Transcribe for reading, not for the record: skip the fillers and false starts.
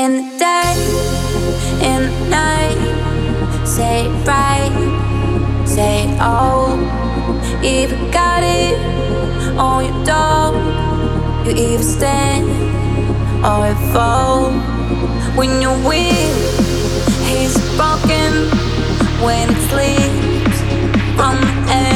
In the day, in the night, say it right, say it all. You either got it or you don't. You either stand or you fall. When your will is broken, when it slips from the air.